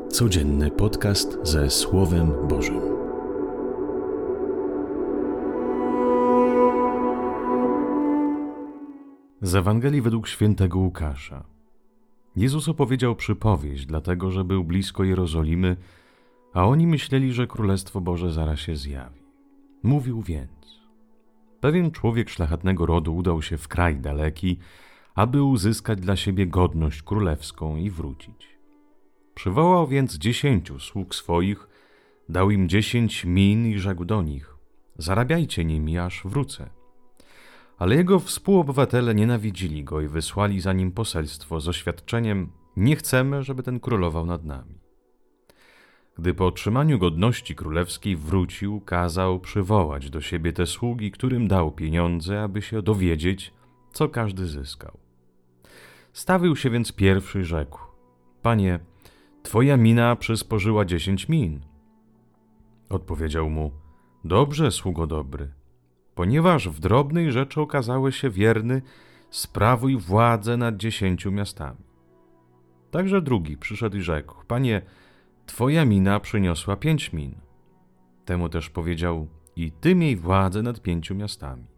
Codzienny podcast ze Słowem Bożym. Z Ewangelii według świętego Łukasza. Jezus opowiedział przypowieść, dlatego że był blisko Jerozolimy, a oni myśleli, że Królestwo Boże zaraz się zjawi. Mówił więc: pewien człowiek szlachetnego rodu udał się w kraj daleki, aby uzyskać dla siebie godność królewską i wrócić. Przywołał więc 10 sług swoich, dał im 10 min i rzekł do nich: zarabiajcie nimi, aż wrócę. Ale jego współobywatele nienawidzili go i wysłali za nim poselstwo z oświadczeniem: nie chcemy, żeby ten królował nad nami. Gdy po otrzymaniu godności królewskiej wrócił, kazał przywołać do siebie te sługi, którym dał pieniądze, aby się dowiedzieć, co każdy zyskał. Stawił się więc pierwszy i rzekł: Panie, twoja mina przysporzyła 10 min. Odpowiedział mu: dobrze, sługo dobry. Ponieważ w drobnej rzeczy okazałeś się wierny, sprawuj władzę nad 10 miastami. Także drugi przyszedł i rzekł: Panie, twoja mina przyniosła 5 min. Temu też powiedział: i ty miej władzę nad 5 miastami.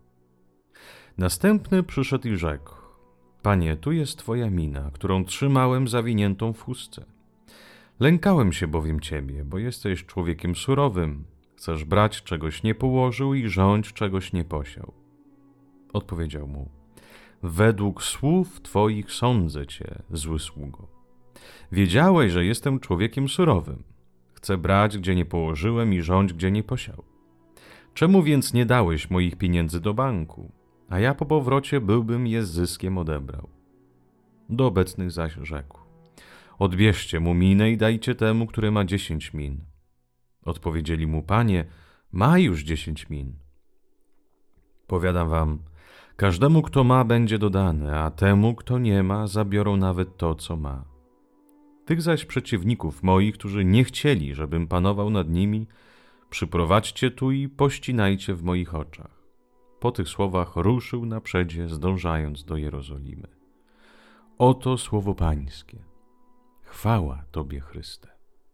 Następny przyszedł i rzekł: Panie, tu jest twoja mina, którą trzymałem zawiniętą w chustce. Lękałem się bowiem ciebie, bo jesteś człowiekiem surowym. Chcesz brać, czegoś nie położył, i rządź, czegoś nie posiał. Odpowiedział mu: według słów twoich sądzę cię, zły sługo. Wiedziałeś, że jestem człowiekiem surowym. Chcę brać, gdzie nie położyłem, i rządź, gdzie nie posiał. Czemu więc nie dałeś moich pieniędzy do banku, a ja po powrocie byłbym je z zyskiem odebrał? Do obecnych zaś rzekł: odbierzcie mu minę i dajcie temu, który ma 10 min. Odpowiedzieli mu: Panie, ma już 10 min. Powiadam wam, każdemu, kto ma, będzie dodane, a temu, kto nie ma, zabiorą nawet to, co ma. Tych zaś przeciwników moich, którzy nie chcieli, żebym panował nad nimi, przyprowadźcie tu i pościnajcie w moich oczach. Po tych słowach ruszył naprzedzie, zdążając do Jerozolimy. Oto słowo Pańskie. Chwała Tobie, Chryste.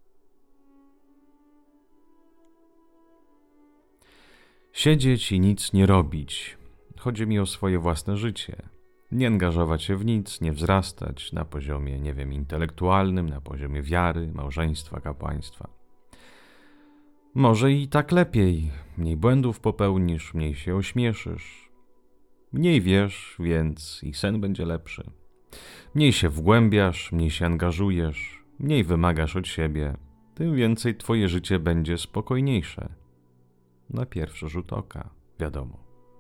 Siedzieć i nic nie robić. Chodzi mi o swoje własne życie. Nie angażować się w nic, nie wzrastać na poziomie, intelektualnym, na poziomie wiary, małżeństwa, kapłaństwa. Może i tak lepiej. Mniej błędów popełnisz, mniej się ośmieszysz. Mniej wiesz, więc i sen będzie lepszy. Mniej się wgłębiasz, mniej się angażujesz, mniej wymagasz od siebie, tym więcej twoje życie będzie spokojniejsze. Na pierwszy rzut oka, wiadomo.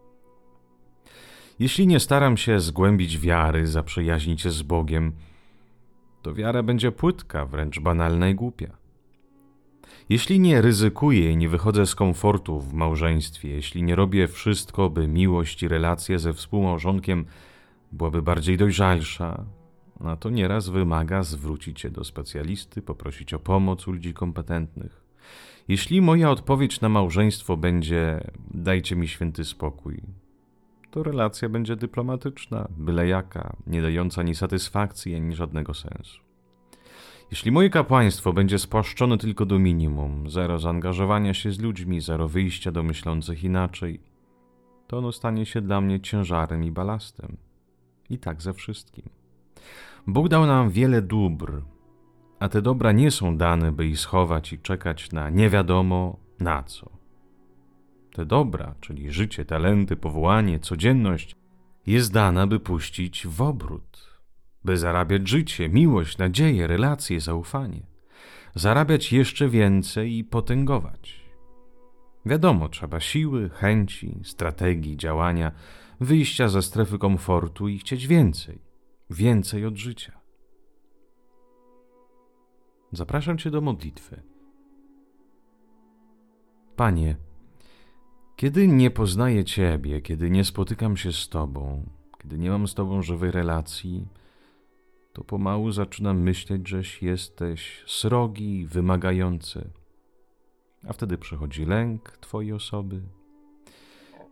Jeśli nie staram się zgłębić wiary, zaprzyjaźnić się z Bogiem, to wiara będzie płytka, wręcz banalna i głupia. Jeśli nie ryzykuję i nie wychodzę z komfortu w małżeństwie, jeśli nie robię wszystko, by miłość i relacje ze współmałżonkiem byłaby bardziej dojrzalsza, no to nieraz wymaga zwrócić się do specjalisty, poprosić o pomoc u ludzi kompetentnych. Jeśli moja odpowiedź na małżeństwo będzie: dajcie mi święty spokój, to relacja będzie dyplomatyczna, byle jaka, nie dająca ani satysfakcji, ani żadnego sensu. Jeśli moje kapłaństwo będzie spłaszczone tylko do minimum, zero zaangażowania się z ludźmi, zero wyjścia do myślących inaczej, to ono stanie się dla mnie ciężarem i balastem. I tak ze wszystkim. Bóg dał nam wiele dóbr, a te dobra nie są dane, by je schować i czekać na nie wiadomo na co. Te dobra, czyli życie, talenty, powołanie, codzienność, jest dana, by puścić w obrót, by zarabiać życie, miłość, nadzieję, relacje, zaufanie. Zarabiać jeszcze więcej i potęgować. Wiadomo, trzeba siły, chęci, strategii, działania, wyjścia ze strefy komfortu i chcieć więcej. Więcej od życia. Zapraszam Cię do modlitwy. Panie, kiedy nie poznaję Ciebie, kiedy nie spotykam się z Tobą, kiedy nie mam z Tobą żywej relacji, to pomału zaczynam myśleć, żeś jesteś srogi, wymagający. A wtedy przychodzi lęk Twojej osoby,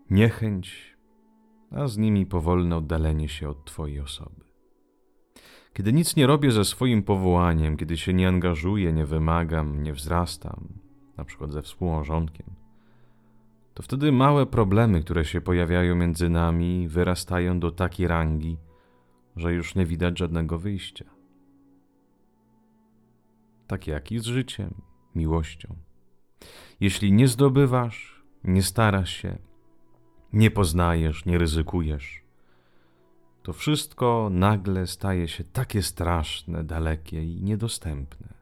niechęć, a z nimi powolne oddalenie się od Twojej osoby. Kiedy nic nie robię ze swoim powołaniem, kiedy się nie angażuję, nie wymagam, nie wzrastam, na przykład ze współmałżonkiem, to wtedy małe problemy, które się pojawiają między nami, wyrastają do takiej rangi, że już nie widać żadnego wyjścia. Tak jak i z życiem, miłością. Jeśli nie zdobywasz, nie starasz się, nie poznajesz, nie ryzykujesz, to wszystko nagle staje się takie straszne, dalekie i niedostępne.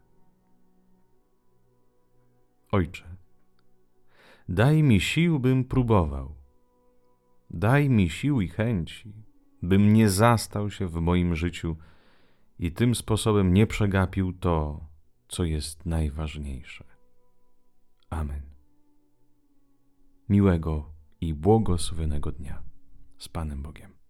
Ojcze, daj mi sił, bym próbował. Daj mi sił i chęci, bym nie zastał się w moim życiu i tym sposobem nie przegapił to, co jest najważniejsze. Amen. Miłego i błogosławionego dnia. Z Panem Bogiem.